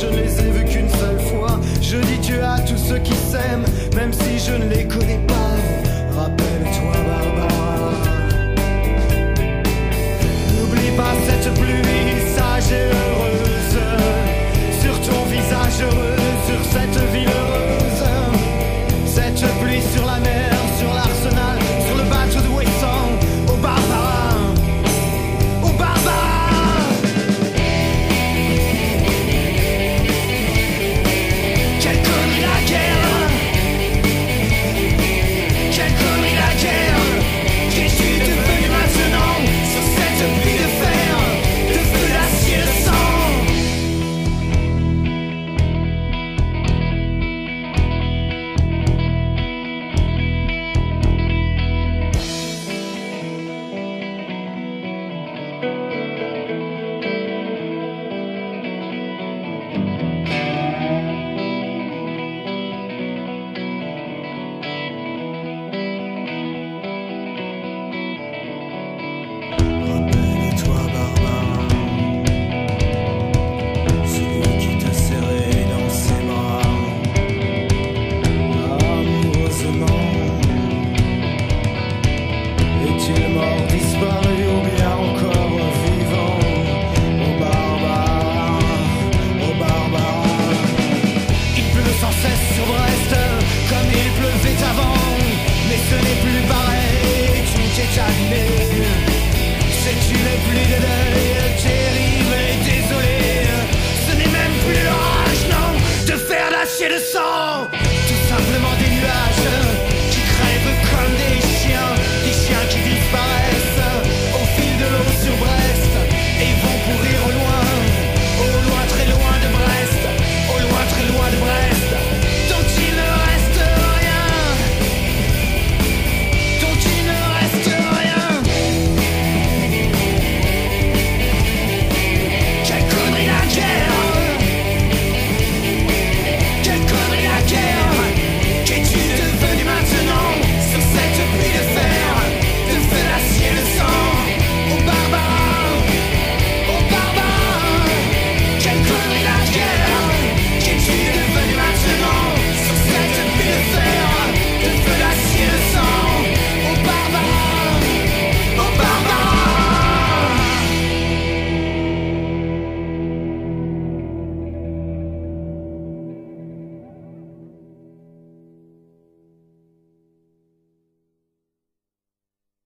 je ne les ai vus qu'une seule fois. Je dis Dieu à tous ceux qui s'aiment, même si je ne les connais pas. Rappelle-toi Barbara. N'oublie pas cette pluie sage et heureuse sur ton visage heureux, sur cette ville heureuse. Cette pluie sur la mer, sur l'arsenal, sur le bateau de Wesson, au Barbara, au Barbara. Quelle connerie la guerre, quelle connerie la guerre. Qu'es-tu devenu maintenant sur cette pluie de fer, de feu, d'acier, de sang? Rappelle-toi Barbara, celui qui t'a serré dans ses bras amoureusement. Est-il mort, disparu ou bien encore vivant? Oh Barbara, oh Barbara. Il pleut sans cesse sur Brest comme il pleuvait avant, mais ce n'est plus pareil, tu t'es calmé. C'est une pluie de deuil terrible et désolée. Ce n'est même plus l'orage, non, de fer, d'acier, de sang.